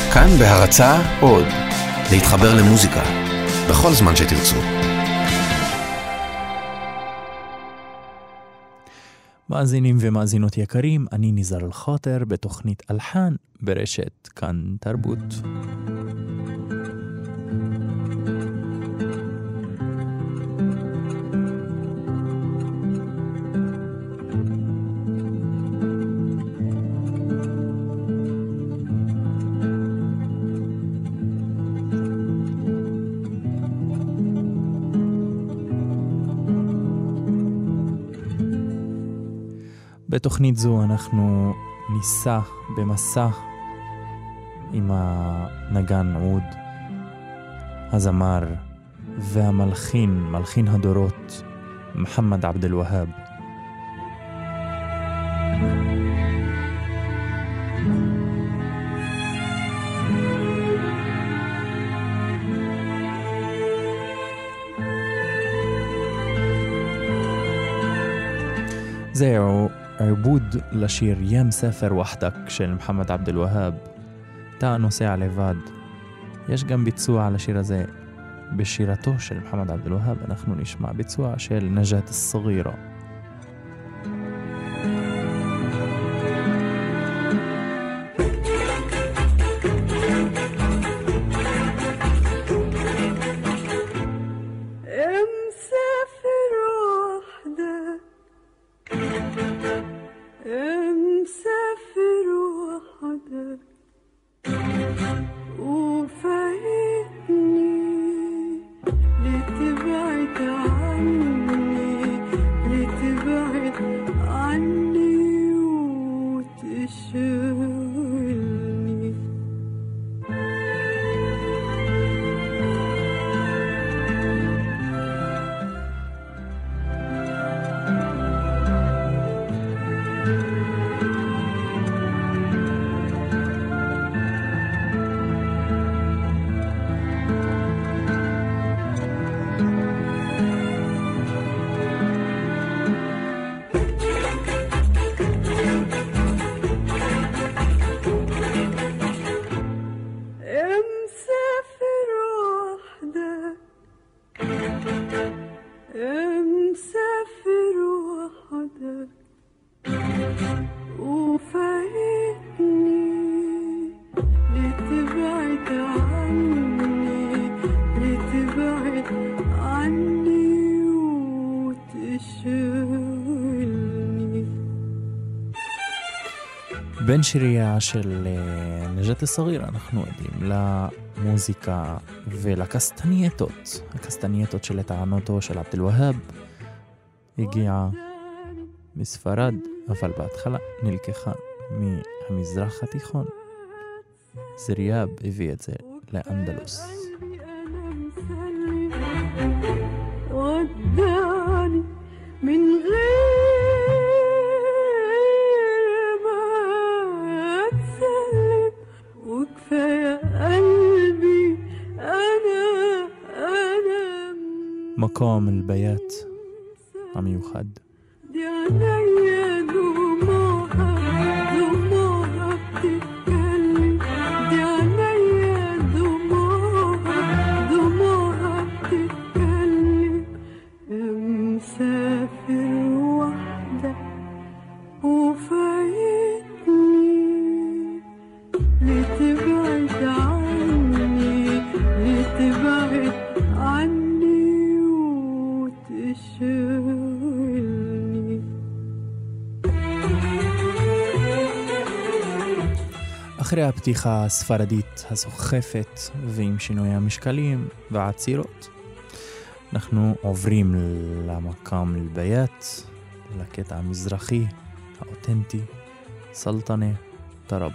כאן בהרצאה עוד, להתחבר למוזיקה, בכל זמן שתרצו. מאזינים ומאזינות יקרים, אני ניזר אל-חאטר בתוכנית אלחן ברשת כאן תרבות. בתוכנית זו אנחנו ניסע במסע עם הנגן עוד, הזמר והמלחין, מלחין הדורות, מוחמד עבד אל-והאב. זהו עיבוד לשיר יא מסافر وحدك של מוחמד עבד אל-והאב, אתה נוסע לבד. יש גם ביצוע לשיר הזה בשירתו של מוחמד עבד אל-והאב, אנחנו נשמע ביצוע של נג'את الصغيرة. בין שיריה של נג'את الصغيرة אנחנו עדים למוזיקה ולקסטנייטות. הקסטנייטות של טענותו של עבד אל-והאב הגיעה מספרד, אבל בהתחלה נלקחה מהמזרח התיכון. זריאב הביא את זה לאנדלוס. وداني من מקום البيات המיוחד. אחרי הפתיחה הספרדית הסוחפת ועם שינוי המשקלים והעצירות, אנחנו עוברים למקום البيات, לקטע המזרחי האותנטי, סלטנה טרב.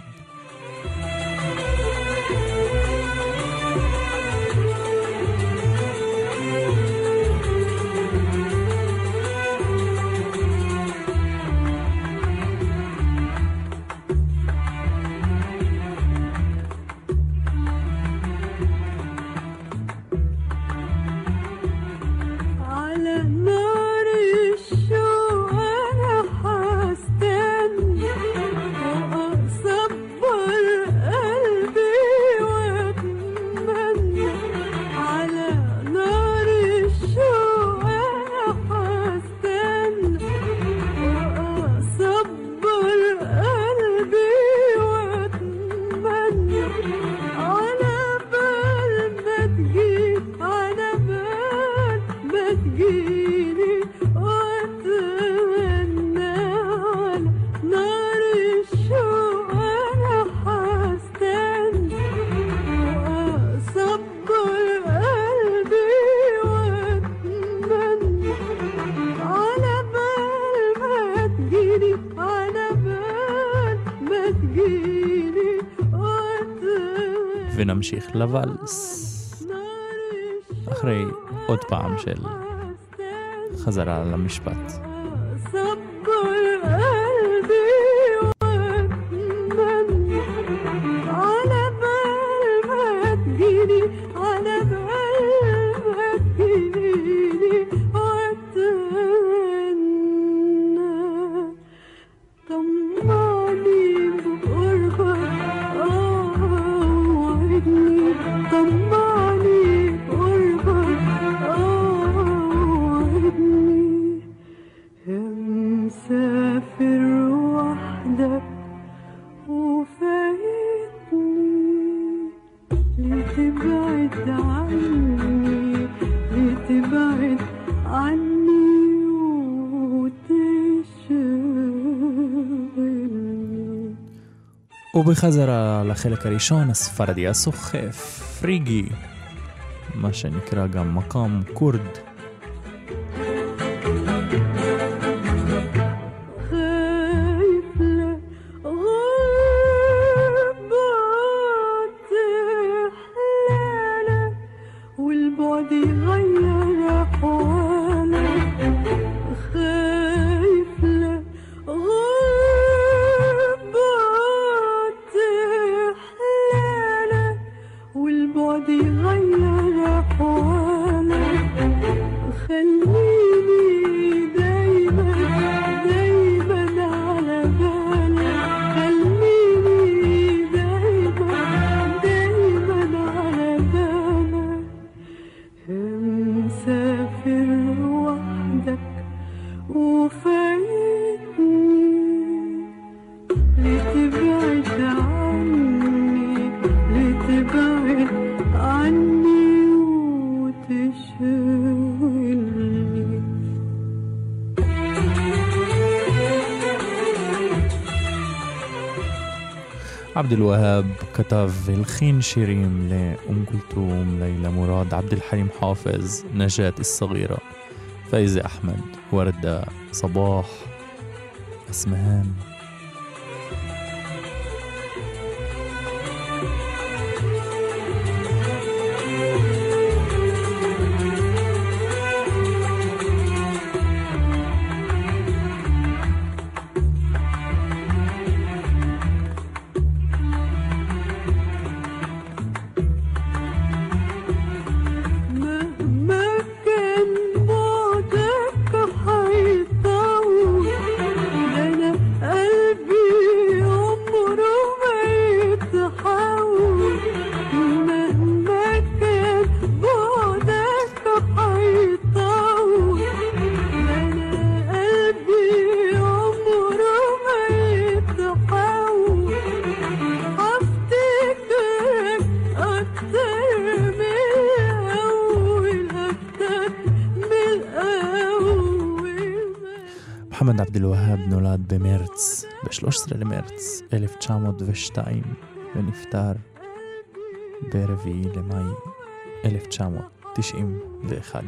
ונמשיך לוואלס אחרי עוד פעם של חזרה למשפט. ובחזרה לחלק הראשון הספרדי הסוחף פריגי, מה שנקרא גם מקום קורד. عبد الوهاب كتب الخين شيرين لأم كلثوم، ليلى مراد، عبد الحليم حافظ، نجاة الصغيرة، فايزة أحمد، وردة، صباح، أسمهان. محمد عبد الوهاب نولد במרץ, ב-13 למרץ 1902 ונפטר ב4 למאי 1991.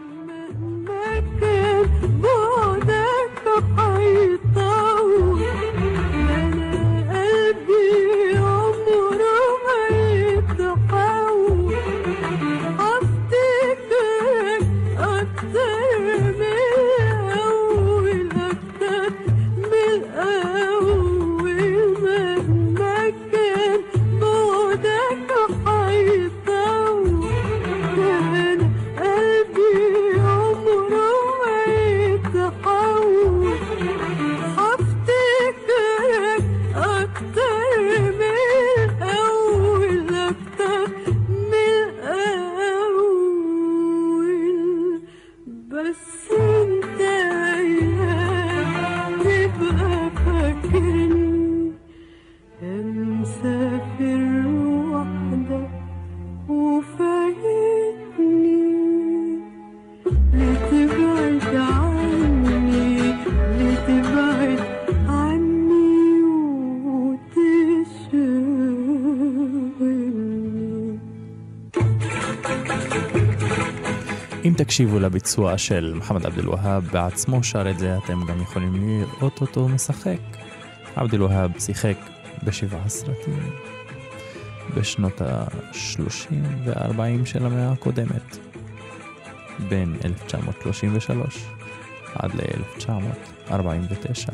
אם תקשיבו לביצוע של מחמד עבד אל-והאב בעצמו שר את זה, אתם גם יכולים לראות אותו משחק. עבד אל-והאב שיחק ב7 סרטים. בשנות ה-30 וה-40 של המאה הקודמת, בין 1933 עד ל-1949,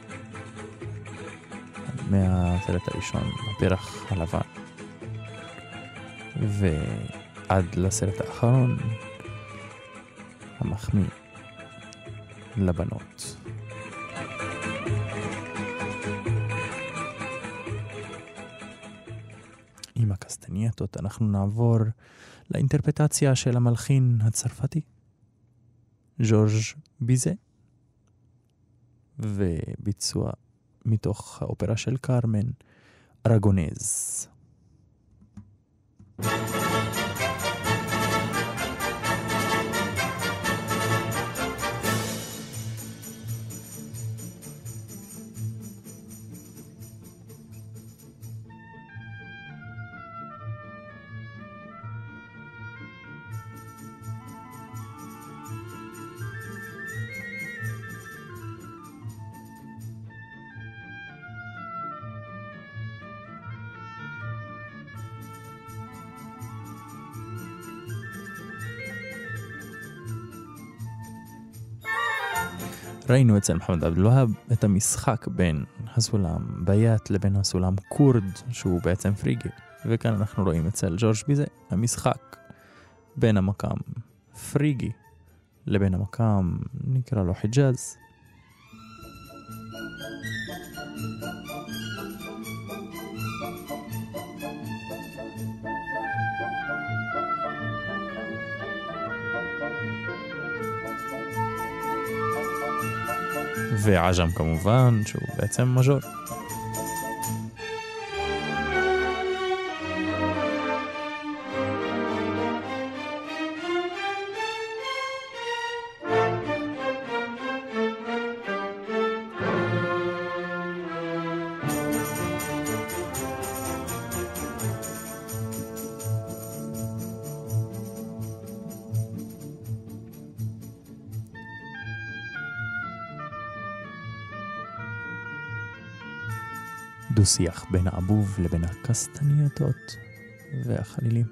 מהסרט הראשון, הפרח הלבן, ועד לסרט האחרון, המחמיא לבנות. עם הקסטנייטות אנחנו נעבור לאינטרפטציה של המלחין הצרפתי ז'ורג' ביזה, וביצוע מתוך האופרה של קרמן, ארגונז. ראינו אצל מחמד עבד אל-והאב את המשחק בין הסולם ביאט לבין הסולם קורד, שהוא בעצם פריגי, וכאן אנחנו רואים אצל ז'ורג' ביזה המשחק בין המקם פריגי לבין המקם נקרא לו חיג'אז. ועג'ם כמובן, שהוא בעצם מז'ור. דו-שיח בין העבוב לבין הקסטנייטות והחלילים.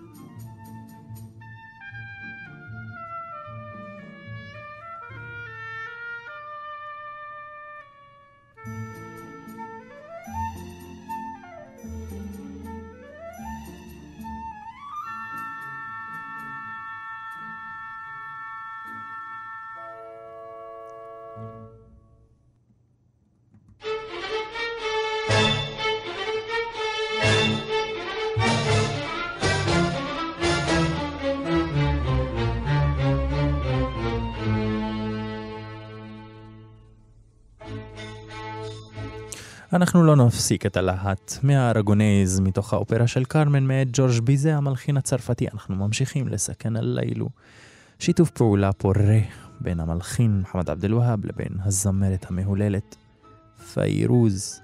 אנחנו לא נפסיק את הלהט מהארגונז מתוך האופרה של קרמן מאת ז'ורג' ביזה, המלחין הצרפתי. אנחנו ממשיכים לסכן הלילו. שיתוף פעולה פורה בין המלחין מחמד עבד אל-והאב לבין הזמרת המהוללת פיירוז.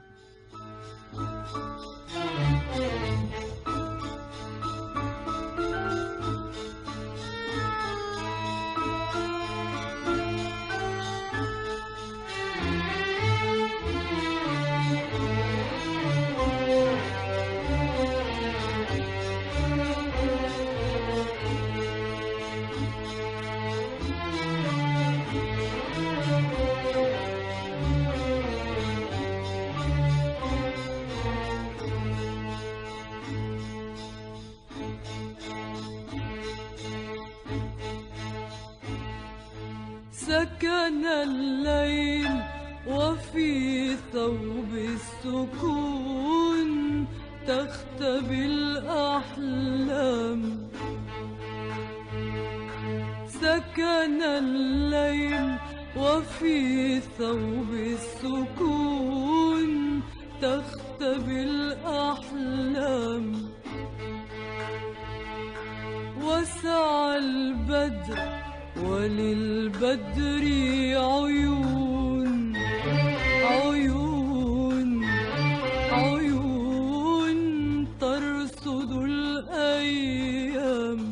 سكن الليل وفي ثوب السكون تختبي الأحلام. سكن الليل وفي ثوب السكون تختبي الأحلام. وسع البدر وللبدر عيون عيون عيون ترصد الأيام.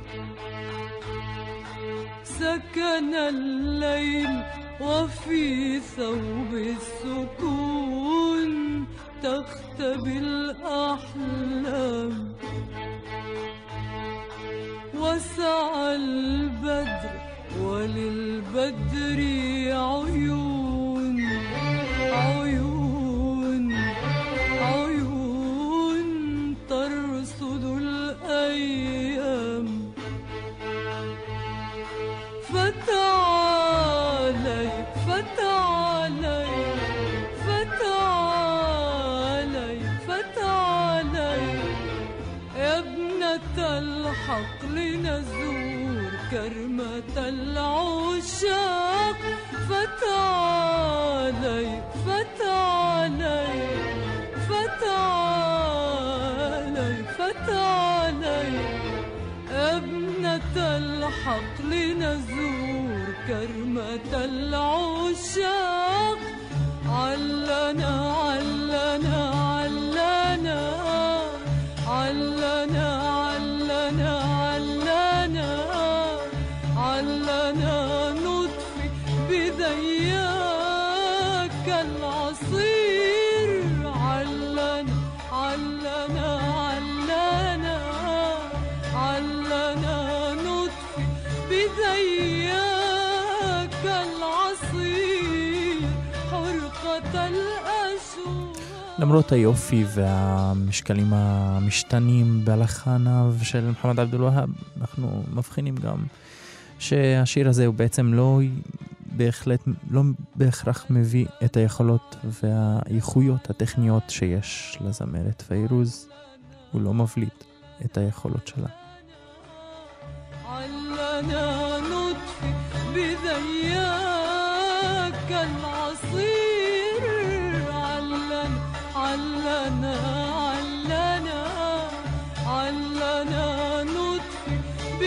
سكن الليل وفي ثوب السكون تختبي الأحلام. للبدر عيون عيون عيون ترصد الأيام فتعالي فتعالي فتعالي فتعالي يا ابنة الحقل نزور كرمة العشاق فتعالي فتعالي فتعالي فتعالي يا ابنة الحقل نزور كرمة العشاق علنا علنا علنا علنا علنا علنا علنا نطفي بذياك العصير علنا علنا علنا علنا نطفي بذياك العصير حرقة الأشواق. למרות היופי והמשקלים המשתנים בלחניו של מוחמד עבד אל-והאב, אנחנו מבחינים גם שהשיר הזה הוא בעצם לא בהכרח מביא את היכולות והאיכויות הטכניות שיש לזמרת פיירוז. הוא לא מבליט את היכולות שלה. علنا نطفي بذياك العصير علنا علنا علنا علنا نطفي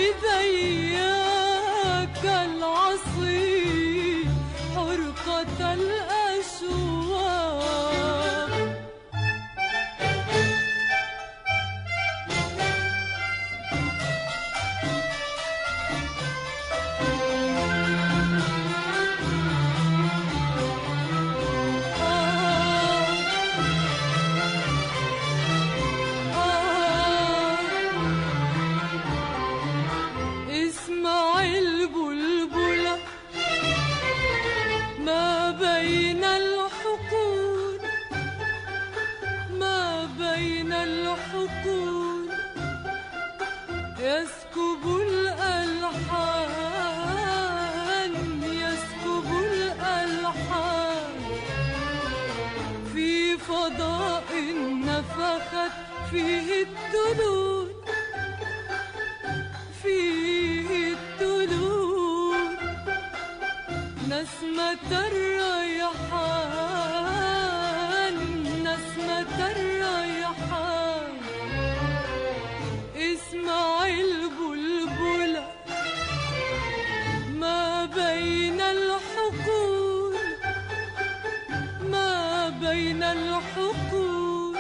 بذياك العصير حرقة الأشواق. يسكب الألحان يسكب الألحان في فضاء نفخت فيه التلول فيه التلول نسمة الريحان نسمة الريحان اسمع البلبلة ما بين الحقول ما بين الحقول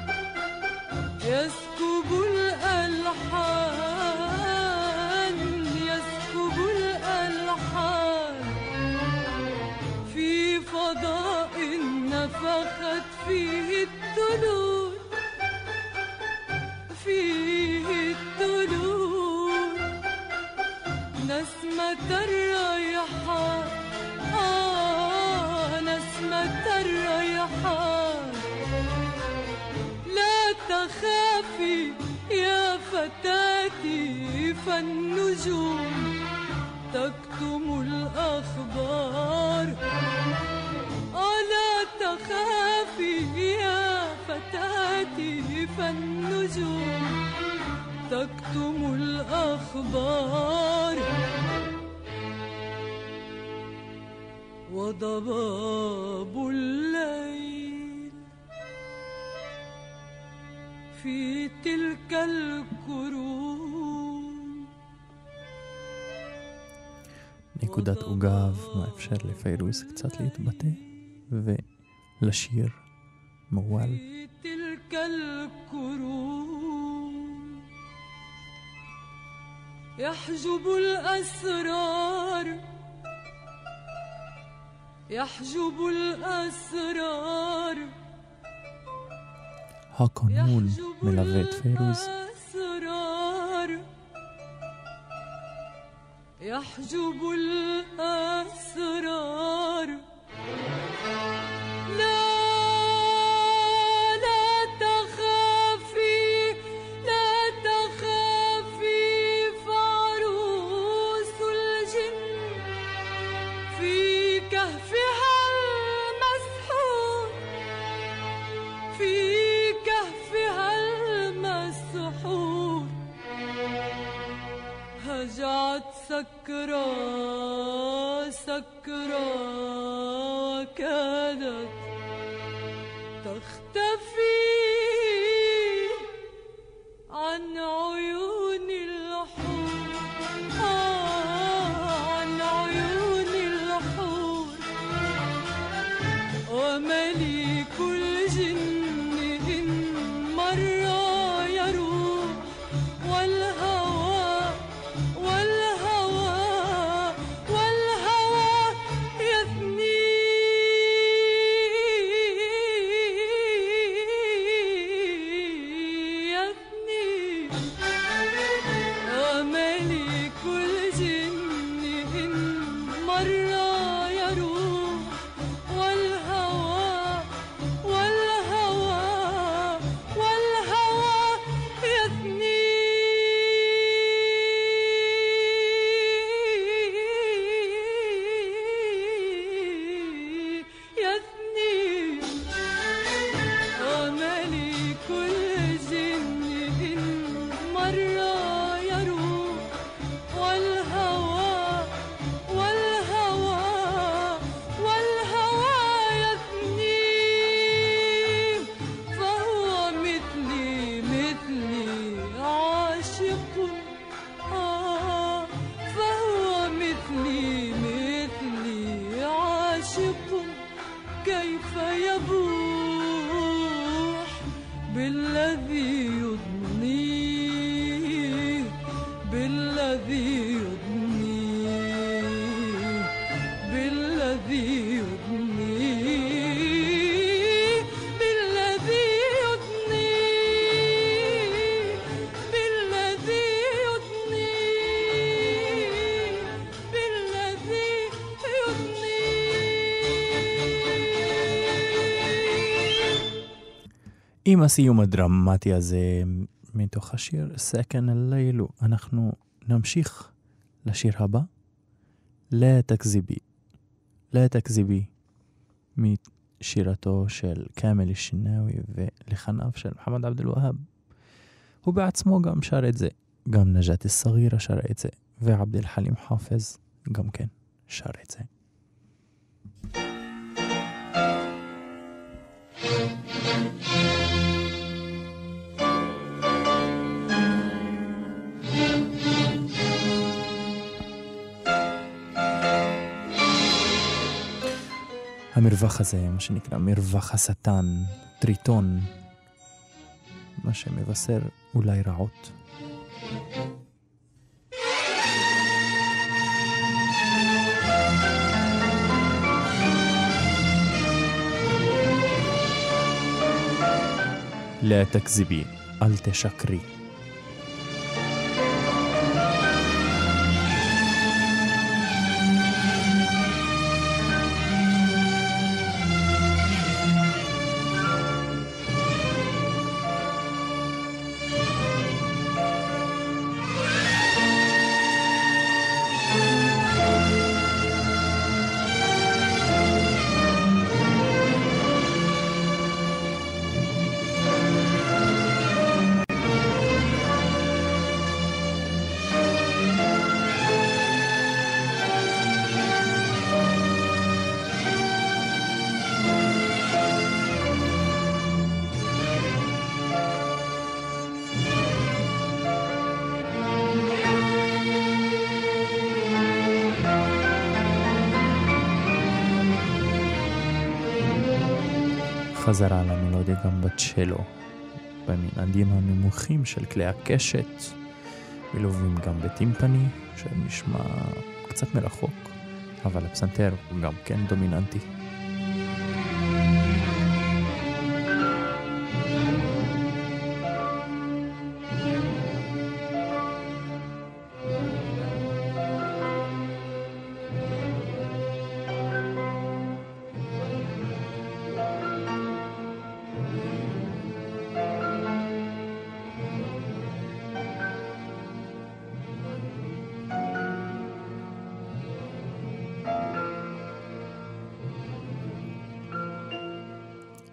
يسكب الألحان يسكب الألحان في فضاء نفخت فيه التلول فيه التلول نسمة الريحان نسمة الريحان لا تخافي يا فتاتي فالنجوم تكتم الأخبار لا تخافي يا فتاتي فالنجوم تكتم الأخبار وضباب الليل في تلك الكروم. נקודת עוגב מאפשר לפיירוז קצת להתבטא ולשיר מועל. في تلك الكروم يحجب الأسرار يحجب الأسرار הקונון מלווה את פיירוז. يحجب الأسرار. لا تخافي لا تخافي، فعروس الجن في كهفها المسحور، في كهفها المسحور، هجعت سكرى سكرى وكادت تختفي عن عيون الحور، عن عيون الحور. ومليك الجن إن مر يروح، والهوى يثني، ومليك الجن إن مر يروح، والهوى يثني. ومليك الجن إن مر يروح، والهوى يثني. فهو مثلي عاشق، فهو مثلي عاشق. كيف يبوح بالذي يضنيه، بالذي يضنيه، بالذي يضنيه، بالذي يضنيه، بالذي يضنيه، بالذي يضنيه. עם הסיום הדרמטי הזה מתוך השיר סכן הלילו, אנחנו נמשיך לשיר הבא, لا تكذبي. لا تكذبي משירתו של כאמל השנאווי ולחניו של מוחמד עבד אל-והאב. הוא בעצמו גם שר את זה, גם נג'את אל-סגירה שר את זה, ועבד אל-חלים חאפז גם כן שר את זה. המרווח הזה, מה שנקרא מרווח השטן, טריטון, מה שמבשר אולי רעות. لا تكذبي, אל תשקרי. חזרה על המלודיה גם בצ'לו, במנעדים הנמוכים של כלי הקשת, מלווים גם בטימפני, שנשמע קצת מרחוק, אבל הפסנתר הוא גם כן דומיננטי.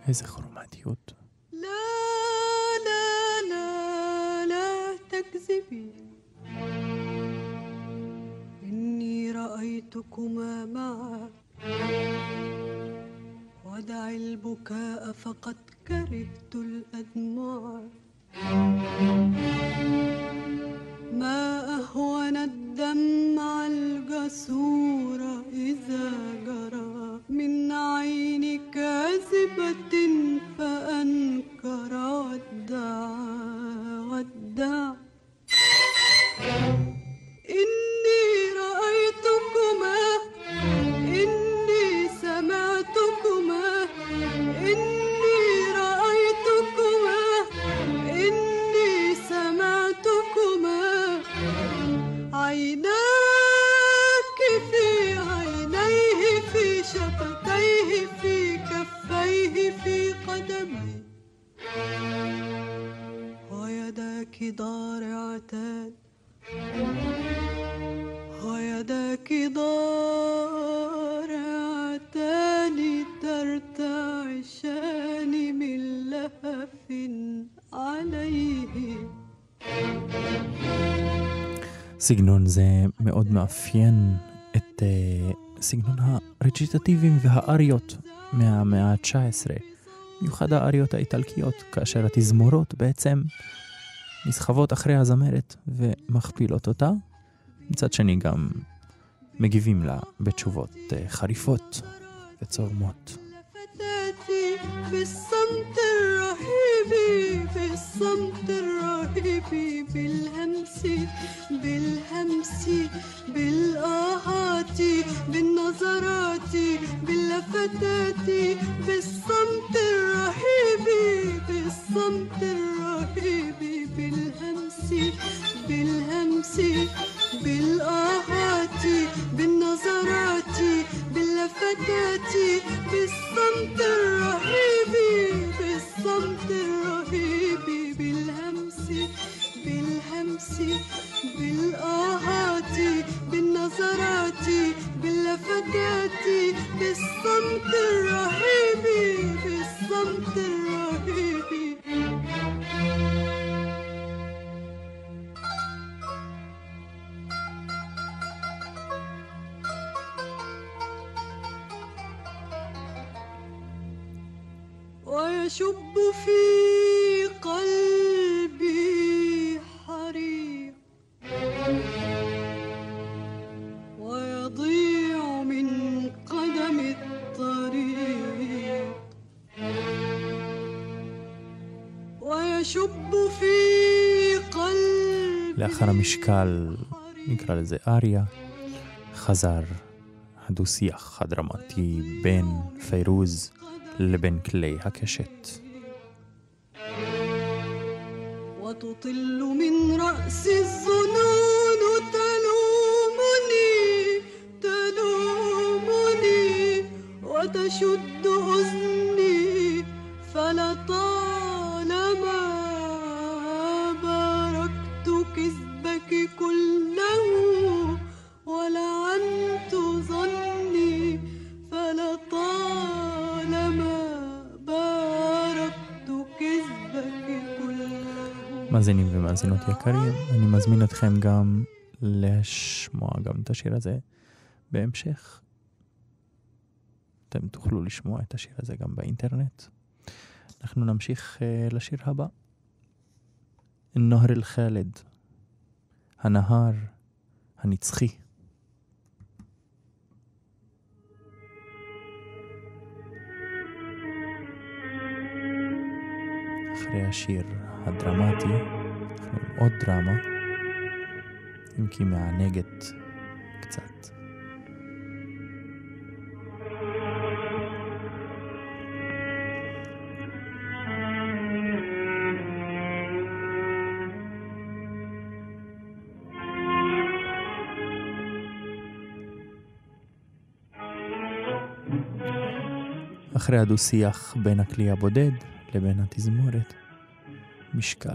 איזה כרומטיות. لا لا لا لا تكذبي إني رأيتكما معا ودع البكاء فقد كرهت الأدمع ما أهون الدمع الجسور إذا جرى من عين كاذبة فأنكر ودع إني رأيتكما إني سمعتكما إني رأيتكما إني سمعتكما عيناك في عينيه في شفتيه في كفيه في قدميه ويداك ضارعتان ويداك ضارعتان ترتعشان من لهف عليه. סגנון זה מאוד מאפיין את סגנון הרציטטיבים והאריות מהמאה ה-19, מיוחד האריות האיטלקיות, כאשר התזמורות בעצם נסחבות אחרי הזמרת ומכפילות אותה, מצד שני גם מגיבים לה בתשובות חריפות וצורמות. في الصمت الرهيب في الصمت الرهيب بالهمس بالهمس بالآهات بالنظرات باللفتات بالصمت الرهيب بالصمت الرهيب بالهمس بالهمس بالآهات بالنظرات باللفتات بالصمت الرهيب بالصمت الرهيب بالهمس بالهمس بالآهات بالنظرات باللفتات بالصمت الرهيب بالصمت الرهيب. ويشب في قلبي حريق ويضيع من قدم الطريق ويشب في قلبي. לאחר המשקל, נקרא לזה אריה, חזר הדו-שיח הדרמטי בין פיירוז לבין כלי הקשת. وتطل من رأس الظنون تلومني تلومني وتشد أذني فلطالما باركت كذبك كله ولعنت ظني فلطالما باركت كذبك كله. מאזינים ומאזינות יקרים, אני מזמין אתכם גם לשמוע גם את השיר הזה בהמשך. אתם תוכלו לשמוע את השיר הזה גם באינטרנט. אנחנו נמשיך לשיר הבא. נהר אל-חאלד, הנהר הנצחי. אחרי השיר הדרמטי, אנחנו עם עוד דרמה, אם כי מענגת קצת. אחרי הדו-שיח בין הכלי הבודד לבין התזמורת, משקל.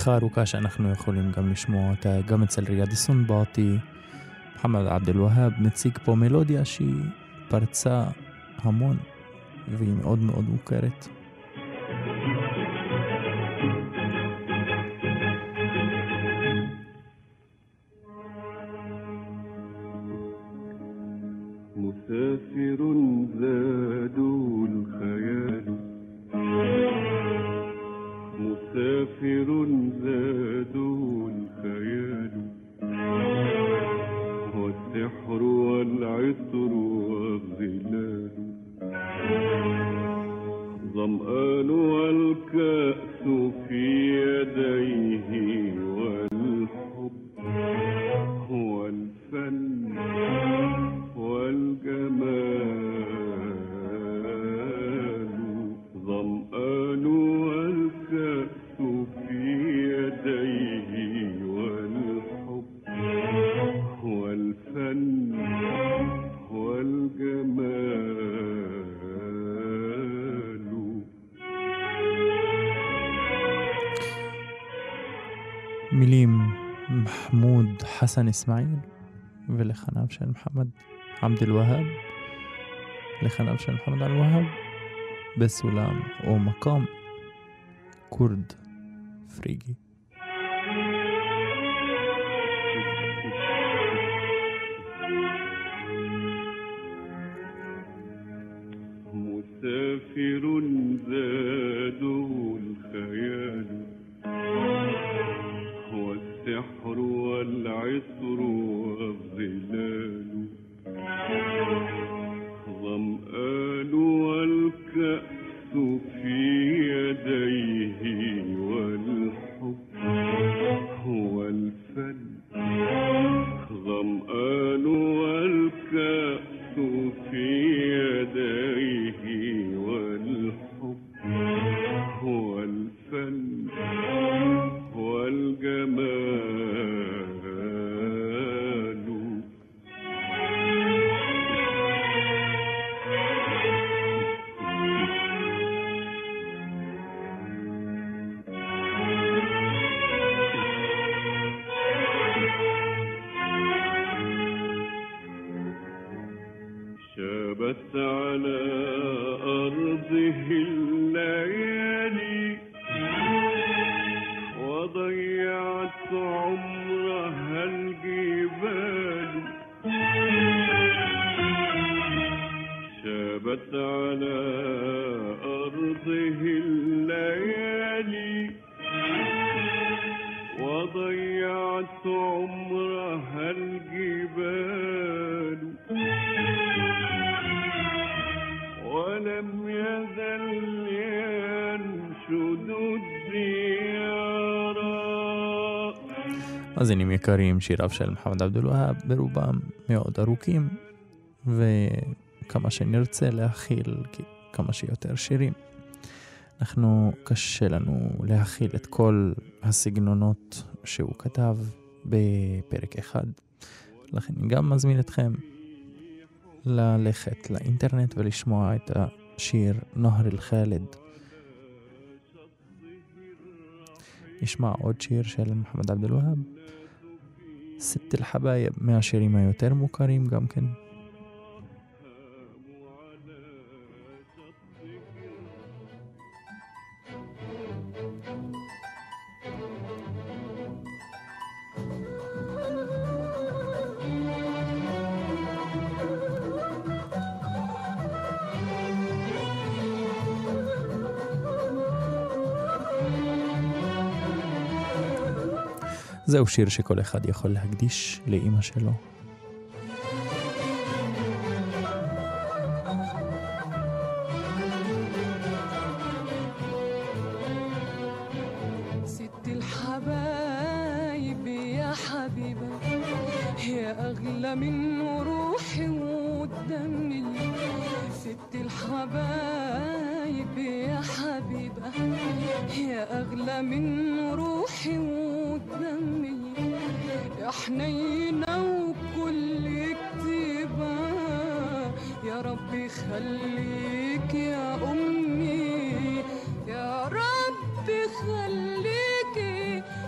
חרוקה שאנחנו יכולים גם לשמוע אותה גם אצל ריאד סנבאטי. מוחמד עבד אל-והאב מציג פה מלודיה שהיא פרצה המון והיא מאוד מאוד מוכרת. مسافر زاد الخيال مسافر زاد الخيال والسحر والعطر والظلال ظمآن والكأس في يديه والحب والفن والجمال ظمآن والكأس في يديه والحب والفن والجمال. מילים محمود حسن إسماعيل ולחניו של מוחמד עבד אל-והאב, לחניו של מוחמד עבד אל-והאב בסולם או מקום כורד פריגי. مسافر زاده الخيال والسحر والعطر والظلال ظمآن والكأس في يديه والحب والفن ظمآن والكأس في يديه والحب والفن والجمال. شابت على أرضه الليالي وضيعت عمرها الجبال شابت على أرضه الليالي وضيعت عمرها الجبال ولم يزل ينشد الديار. מאזינים יקרים, שיריו של מוחמד עבד אל-והאב ברובם מאוד ארוכים, וכמה שנרצה להכיל כמה שיותר שירים. קשה לנו להכיל את כל הסגנונות שהוא כתב בפרק אחד. לכן אני גם מזמין אתכם ללכת לאינטרנט ולשמוע את השיר נהר אל-ח'אלד. נשמע עוד שיר של מוחמד עבד אל-והאב, סת אל-חבאיב, מהשירים היותר מוכרים גם כן. זהו שיר שכל אחד יכול להקדיש לאמא שלו. ست الحبايب يا حبيبة يا أغلى من روحي ودمي. ست الحبايب يا حبيبة يا أغلى من روحي ودمي. يا حنينة وكل كتيبة يا ربي خليك يا أمي. يا ربي خليكي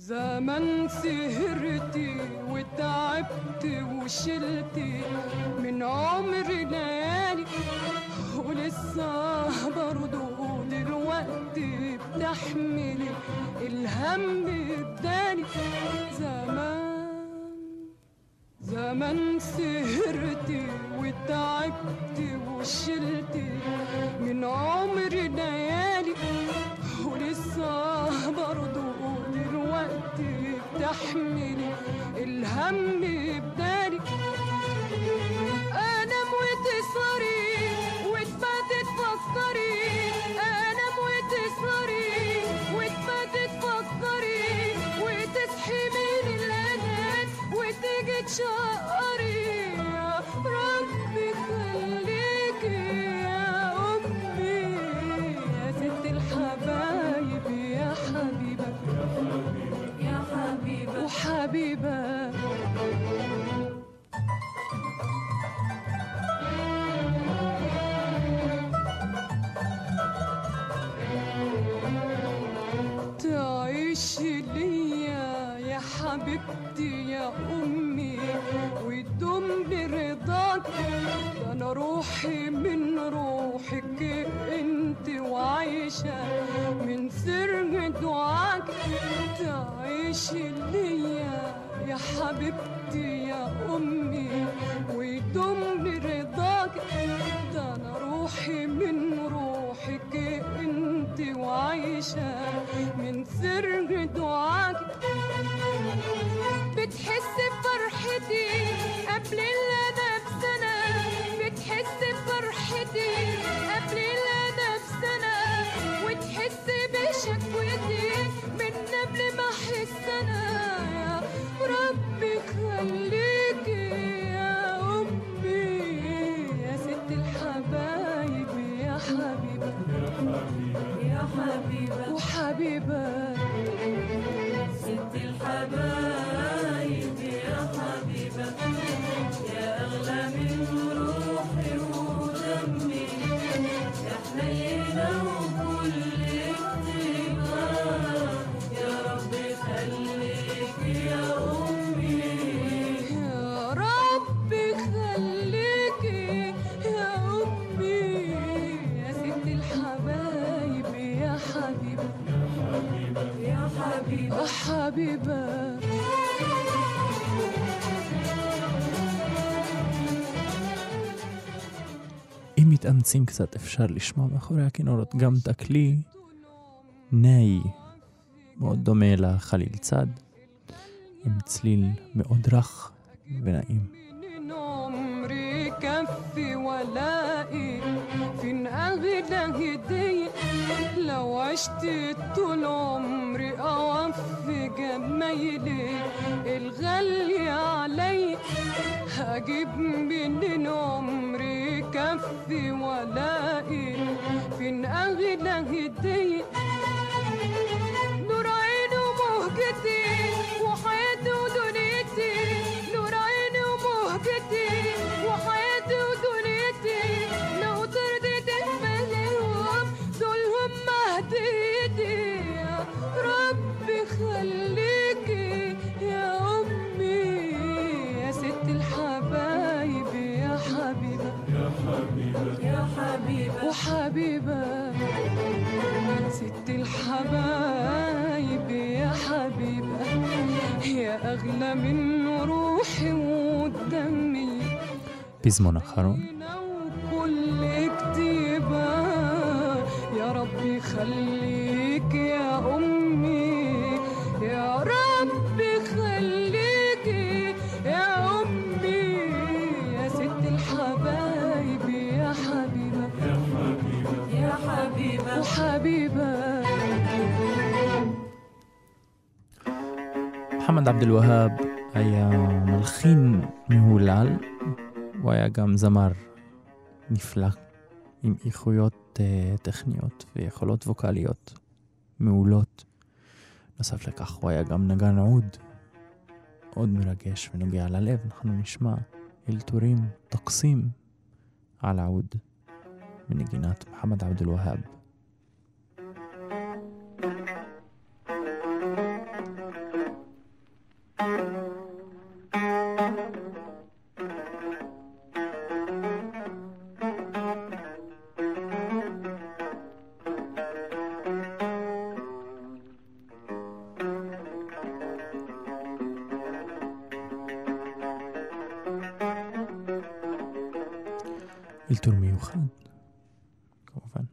زمان سهرتي وتعبت وشلتي من عمري ليالي، ولسه برضو دلوقتي بتحملي الهم بدالي. زمان سهرتي وتعبت وشلتي من عمري ليالي، ولسه برضو دلوقتي بتحملي الهم بدالي. انام وتسهري وتباتي تفكري، انام وتسهري وتباتي تفكري، وتصحي من الانام وتيجي تشقري. يا ربي خليكي يا امي يا ست الحبايب، يا حبيبه يا حبيبه وحبيبه. تعيشي ليا يا حبيبتي يا أمي، ويدوم برضاك. ده أنا روحي من روحك انت، وعايشة من سر دعاك. تعيشي ليا يا حبيبتي يا أمي، ويدوم برضاك. ده أنا روحي من روحك انت، وعايشة من سر دعاك. بتحس بفرحتي قبل اللي بسنة، بتحس بفرحتي قبل اللي بسنة، وتحس بشكوتي من قبل ما احس انا. يا ربي خليكي يا امي يا ست الحبايب، يا حبيبه يا حبيبه وحبيبه. ست الحبايب يا حبيبة، يا أغلى من روحي ودمي، يا حنينة وكل كتيبة. يا ربي خليك يا أمي، يا ربي خليكي يا أمي يا ست الحبايب، يا حبيبة يا حبيبة حبيبة. אם מתאמצים קצת אפשר לשמוע מאחורי הכינורות גם תקלי נאי מאוד דומה לחליל צד, עם צליל מאוד רך ונעים. عمري كفي ولائي فين أغلى هدية، لو عشت طول عمري أوفي جمايلي الغالية علي. هجيب منين عمري كفي ولائي فين أغلى هدية، نور عيني ومهجتي وحياتي ودنيتي، نور عيني ومهجتي وحياتي ودنيتي. لو ترضيت بلاهم دولهم هديتي. يا ربي خليكي يا أمي يا ست الحبايب، يا حبيبة يا حبيبة يا حبيبة وحبيبة. ست الحبايب يا حبيبة، يا أغلى من روحي ودمي. פזמון אחרון. وكل كتيبة. يا ربي خليك يا أمي، يا ربي خليك يا أمي يا ست الحبايب، يا حبيبة يا حبيبة يا حبيبة وحبيبة. محمد عبد الوهاب היה מלחין מהולל, הוא היה גם זמר נפלא עם איכויות טכניות ויכולות ווקליות מעולות. נוסף לכך הוא היה גם נגן עוד מרגש ונוגע ללב. אנחנו נשמע אלתורים תוקסים על העוד מנגינת محمد عبد الوهاب. אלתור מיוחד, כמובן.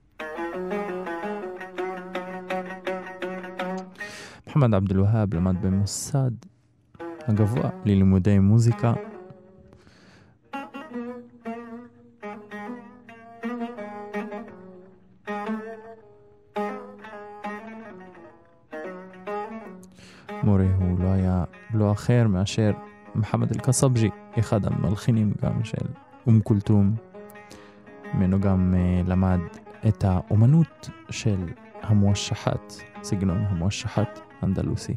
מוחמד עבד אל-והאב למד במוסד הגבוה ללימודי מוזיקה מורה הוא לא היה לא אחר מאשר מחמד אל-קסבג'י, אחד המלחינים גם של כולתום. ממנו גם למד את האומנות של המואשחת, סגנון המואשחת אנדלוסי.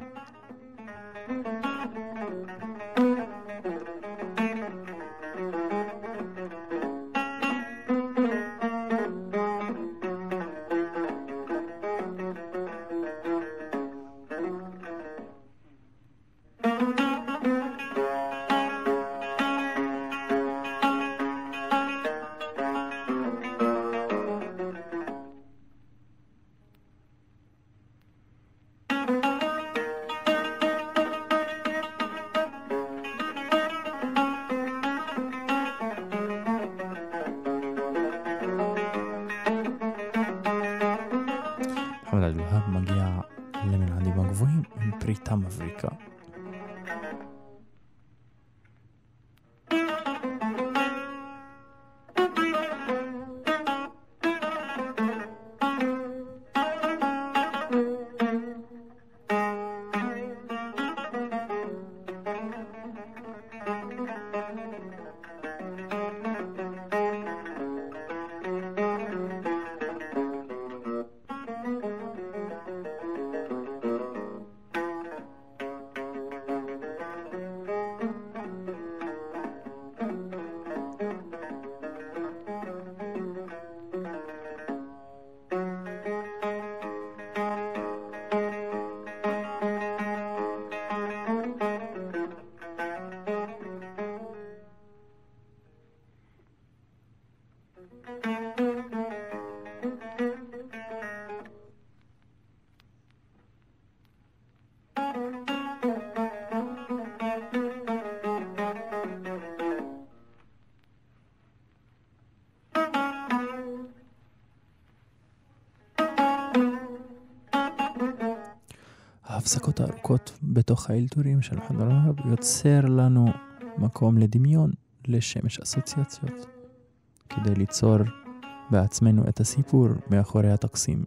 מוחמד עבד אל-והאב מגיע למנעדים הגבוהים עם פריטה מבריקה. ההפסקות הארוכות בתוך האלתורים של מוחמד עבד אל-והאב יוצר לנו מקום לדמיון, לשמש אסוציאציות, כדי ליצור בעצמנו את הסיפור מאחורי התקסים.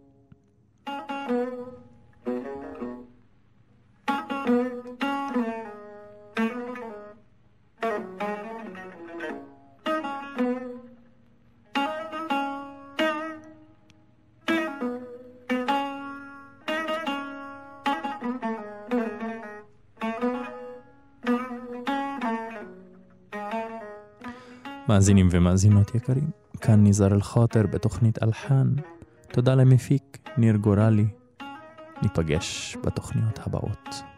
מאזינים ומאזינות יקרים, כאן ניזר אל-חאטר בתוכנית אלחן. תודה למפיק ניר גורלי. ניפגש בתוכניות הבאות.